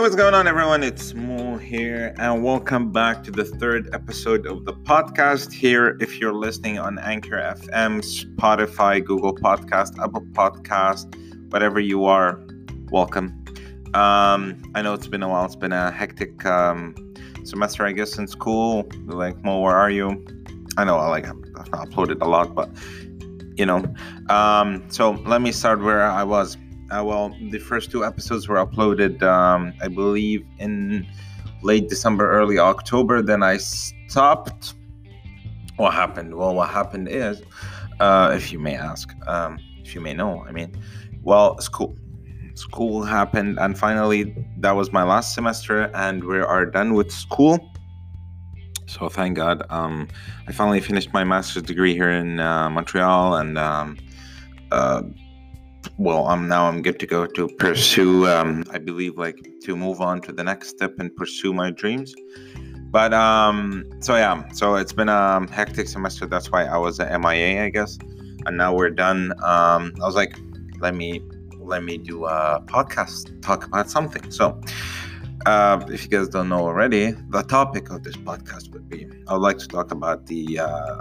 what's going on, everyone? It's Mo here, and welcome back to the third episode of the podcast here. If you're listening on Anchor FM, Spotify, Google Podcast, Apple Podcast, whatever you are, welcome. I know it's been a while. It's been a hectic semester, I guess, in school. Like, Mo, where are you? I know I've not uploaded a lot, but so let me start where I was. The first two episodes were uploaded, I believe, in late December, early October. Then I stopped. What happened? Well, what happened is, if you may ask, if you may know, school happened, and finally, that was my last semester, and we are done with school. So thank God, I finally finished my master's degree here in Montreal, and I'm good to go to pursue, I believe, to move on to the next step and pursue my dreams. But, so it's been a hectic semester. That's why I was at MIA, I guess. And now we're done. I was like, let me do a podcast, talk about something. So, if you guys don't know already, the topic of this podcast would be, I would like to talk about the,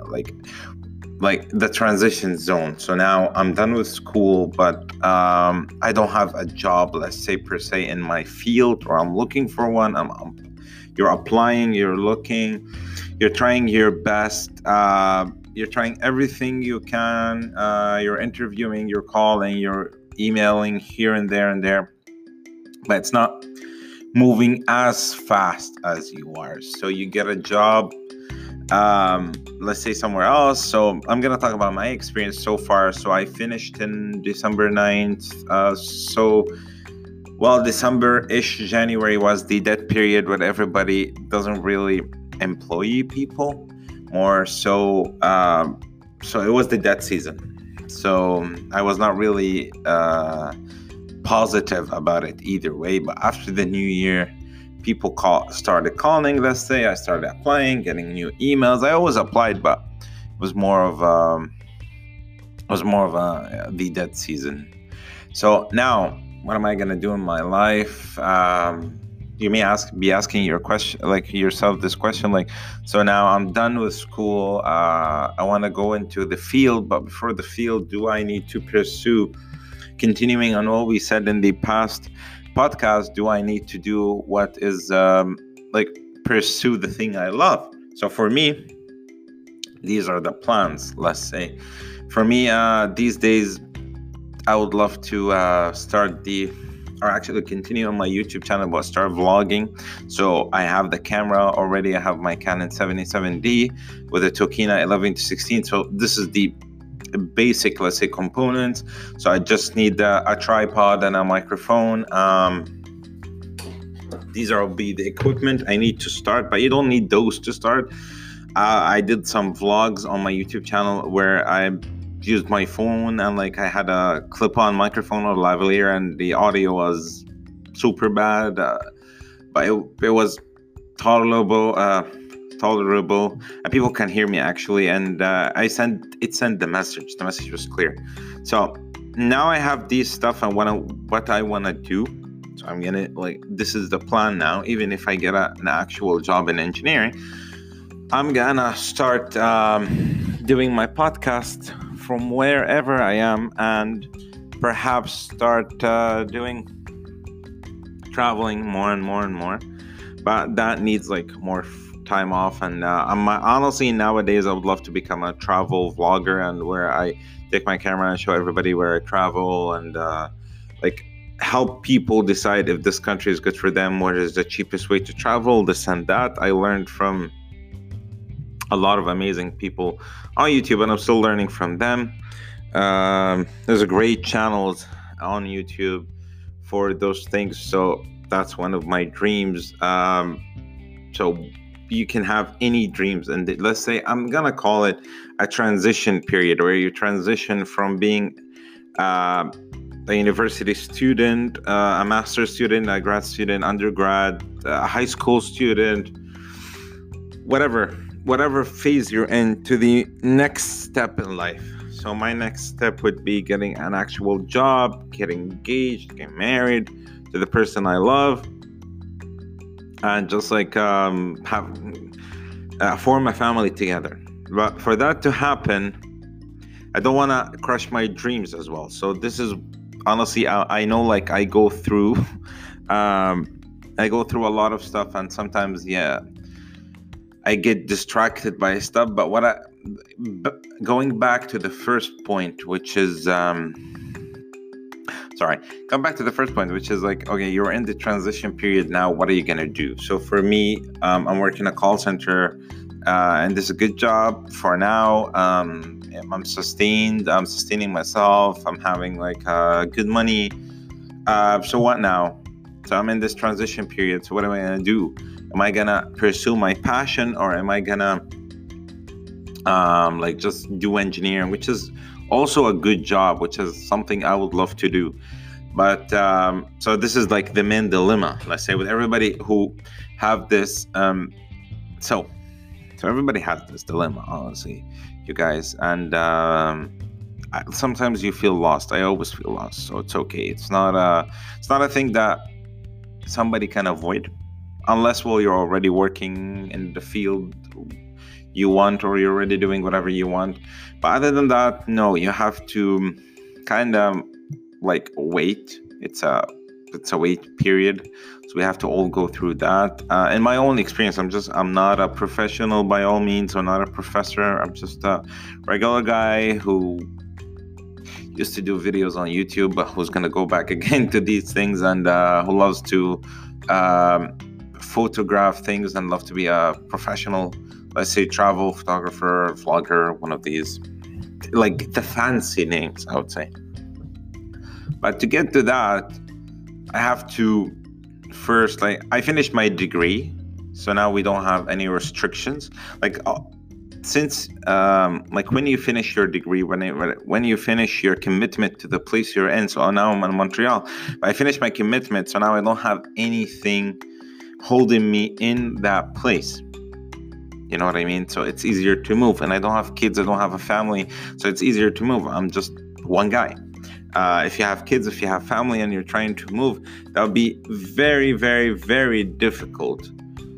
the transition zone. So now I'm done with school, but I don't have a job, let's say, per se, in my field, or I'm looking for one. You're applying, you're looking, you're trying your best, you're trying everything you can, you're interviewing, you're calling, you're emailing here and there, but it's not moving as fast as you are. So you get a job, let's say somewhere else. So I'm going to talk about my experience so far. So I finished in December 9th. December-ish, January was the dead period where everybody doesn't really employ people more. So it was the dead season. So I was not really positive about it either way. But after the new year, people started calling, let's say. I started applying, getting new emails. I always applied, but it was more of the dead season. So now, what am I gonna do in my life? You may be asking yourself this question, so now I'm done with school. I want to go into the field, but before the field, do I need to pursue? Continuing on what we said in the past podcast, do I need to do what is pursue the thing I love? So for me, these are the plans, let's say. For me, these days, I would love to continue on my YouTube channel, but start vlogging. So I have the camera already. I have my Canon 77D with a Tokina 11-16. So this is the basic, let's say, components. So I just need a tripod and a microphone. These will be the equipment I need to start, but you don't need those to start. I did some vlogs on my YouTube channel where I used my phone, and I had a clip-on microphone or lavalier, and the audio was super bad, but it was tolerable, and people can hear me actually. And it sent the message. The message was clear. So now I have these stuff, and what I want to do. So I'm gonna this is the plan now. Even if I get an actual job in engineering, I'm gonna start doing my podcast from wherever I am, and perhaps start doing traveling more and more. But that needs more time off, and honestly, nowadays I would love to become a travel vlogger, and where I take my camera and show everybody where I travel, and help people decide if this country is good for them, what is the cheapest way to travel, this and that. I learned from a lot of amazing people on YouTube, and I'm still learning from them. There's a great channels on YouTube for those things. So that's one of my dreams. So you can have any dreams, and let's say I'm gonna call it a transition period, where you transition from being a university student, a master's student, a grad student, undergrad, a high school student, whatever phase you're in, to the next step in life. So my next step would be getting an actual job, getting engaged, getting married to the person I love, and just like have form a family together. But for that to happen, I don't want to crush my dreams as well. So this is honestly, I know, like, I go through a lot of stuff, and sometimes, yeah, I get distracted by stuff. But going back to the first point, which is come back to the first point, which is like, okay, you're in the transition period now. What are you gonna do? So for me, I'm working a call center, and this is a good job for now. I'm sustaining myself. I'm having like good money. So what now? So I'm in this transition period. So what am I gonna do? Am I gonna pursue my passion, or am I gonna like just do engineering, which is also a good job, which is something I would love to do. But so this is like the main dilemma, let's say, with everybody who have this. So everybody has this dilemma, honestly, you guys. And sometimes you feel lost. I always feel lost, so it's okay. It's not a thing that somebody can avoid, unless, well, you're already working in the field you want, or you're already doing whatever you want. But other than that, no, you have to kind of like wait. It's a wait period, so we have to all go through that. In my own experience, I'm not a professional by all means, or not a professor. I'm just a regular guy who used to do videos on YouTube, but who's gonna go back again to these things, and who loves to photograph things and love to be a professional, let's say, travel photographer, vlogger, one of these, like the fancy names, I would say. But to get to that, I have to first, like, I finished my degree, so now we don't have any restrictions. Like, since like when you finish your degree, when you finish your commitment to the place you're in. So now I'm in Montreal. I finished my commitment, so now I don't have anything holding me in that place. You know what I mean? So it's easier to move, and I don't have kids, I don't have a family, so it's easier to move. I'm just one guy. If you have kids, if you have family, and you're trying to move, that would be very, very, very difficult.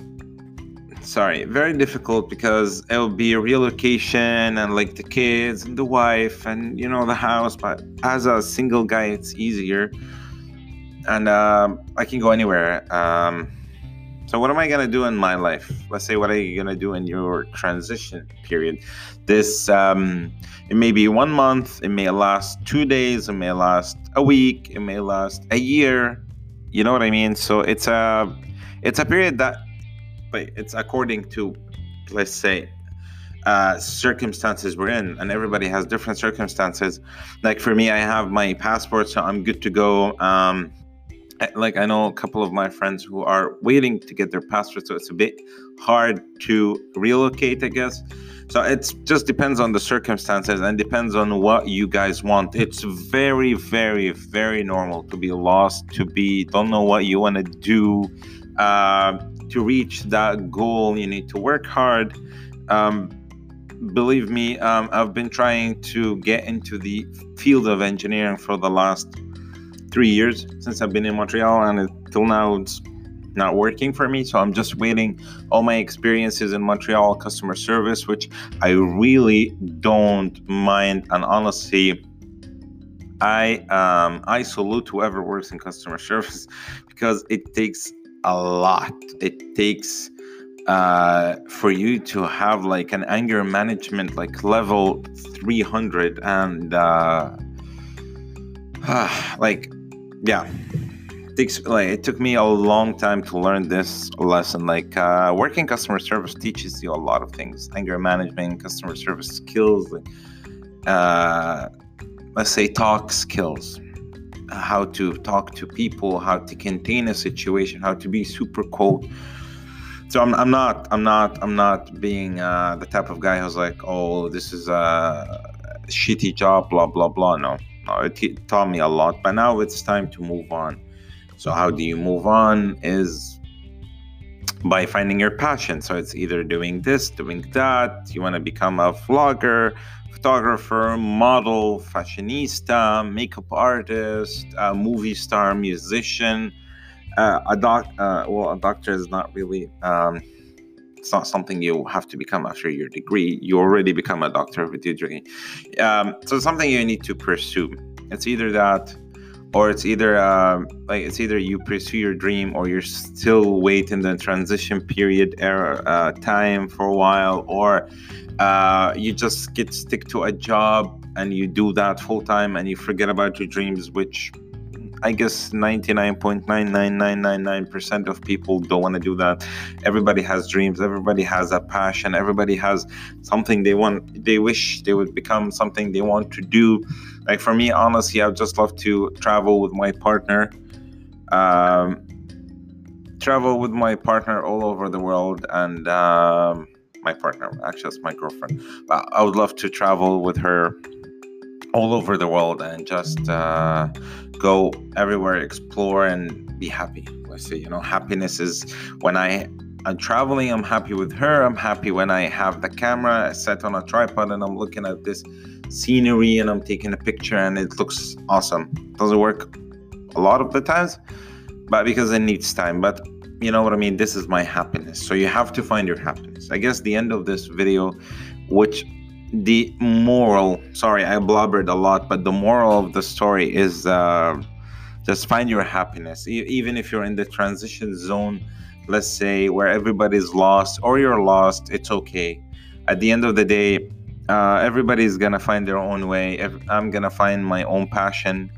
Very difficult, because it will be a relocation, and like the kids and the wife and the house. But as a single guy, it's easier, and I can go anywhere. So what am I gonna do in my life? Let's say, what are you gonna do in your transition period? This it may be 1 month, it may last 2 days, it may last a week, it may last a year. You know what I mean? So it's a period that, but it's according to, let's say, circumstances we're in, and everybody has different circumstances. Like for me, I have my passport, so I'm good to go. Like, I know a couple of my friends who are waiting to get their passport, so it's a bit hard to relocate, I guess. So it just depends on the circumstances, and depends on what you guys want. It's very, very, very normal to be lost, don't know what you want to do. To reach that goal, you need to work hard. Believe me, I've been trying to get into the field of engineering for the last 3 years since I've been in Montreal, and until now it's not working for me. So I'm just waiting all my experiences in Montreal customer service, which I really don't mind. And honestly, I salute whoever works in customer service, because it takes a lot. It takes for you to have like an anger management like level 300, and it took me a long time to learn this lesson. Like working customer service teaches you a lot of things: anger management, customer service skills, like let's say talk skills, how to talk to people, how to contain a situation, how to be super cold. So I'm not being the type of guy who's like, oh, this is a shitty job, blah blah blah. No, it taught me a lot, but now it's time to move on. So how do you move on? Is by finding your passion. So it's either doing this, doing that. You want to become a vlogger, photographer, model, fashionista, makeup artist, movie star, musician. A doctor is not really it's not something you have to become after your degree. You already become a doctor with your degree. So it's something you need to pursue. It's either that, or it's either it's either you pursue your dream, or you're still waiting the transition period era time for a while, or you just stick to a job and you do that full time and you forget about your dreams, which I guess 99.99999% of people don't want to do that. Everybody has dreams. Everybody has a passion. Everybody has something they want. They wish they would become something they want to do. Like for me, honestly, I would just love to travel with my partner. Travel with my partner all over the world, and my partner, actually, it's my girlfriend. But I would love to travel with her all over the world and just go everywhere, explore, and be happy. Let's say, happiness is when I'm traveling, I'm happy with her. I'm happy when I have the camera set on a tripod and I'm looking at this scenery and I'm taking a picture and it looks awesome. Doesn't work a lot of the times, but because it needs time. But you know what I mean? This is my happiness. So you have to find your happiness. I guess the end of this video, which the moral, sorry, I blubbered a lot, but the moral of the story is just find your happiness. Even if you're in the transition zone, let's say, where everybody's lost or you're lost, it's okay. At the end of the day, everybody's gonna find their own way. I'm gonna find my own passion.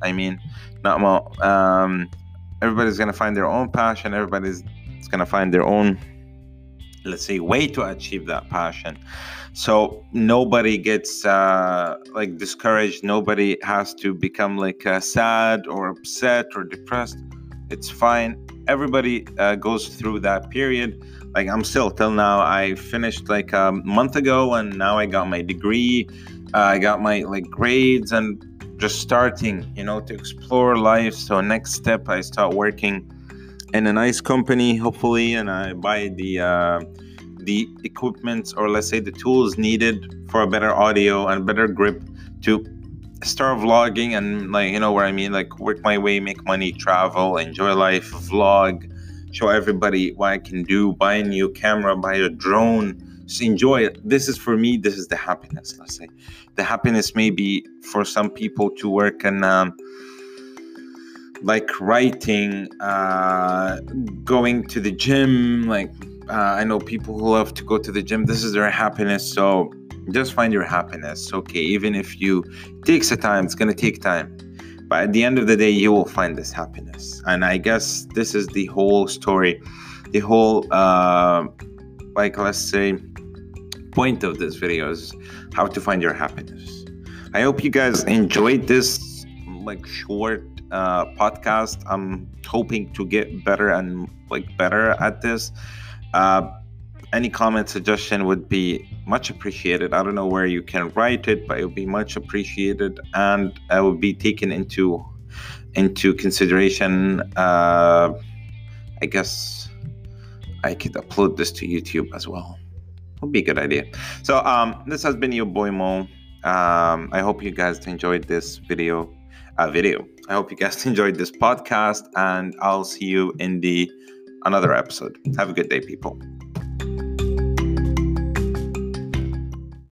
Everybody's gonna find their own passion. Everybody's gonna find their own, let's say, way to achieve that passion. So nobody gets discouraged. Nobody has to become sad or upset or depressed. It's fine. Everybody goes through that period. Like I'm still till now. I finished a month ago, and now I got my degree. I got my grades, and just starting, to explore life. So next step, I start working in a nice company, hopefully, and I buy the equipment, or let's say the tools needed for a better audio and better grip to start vlogging and what I mean, work my way, make money, travel, enjoy life, vlog, show everybody what I can do, buy a new camera, buy a drone, just enjoy it. This is for me, this is the happiness. Let's say the happiness may be for some people to work in writing, going to the gym, I know people who love to go to the gym. This is their happiness. So just find your happiness. Okay, even if takes a time, it's gonna take time, but at the end of the day, you will find this happiness. And I guess this is the whole story, the whole let's say point of this video is how to find your happiness. I hope you guys enjoyed this short podcast. I'm hoping to get better and better at this. Any comment, suggestion would be much appreciated. I don't know where you can write it, but it would be much appreciated, and I will be taken into consideration. I guess I could upload this to YouTube as well. Would be a good idea. So this has been your boy Mo. I hope you guys enjoyed this video. I hope you guys enjoyed this podcast, and I'll see you in another episode. Have a good day, people.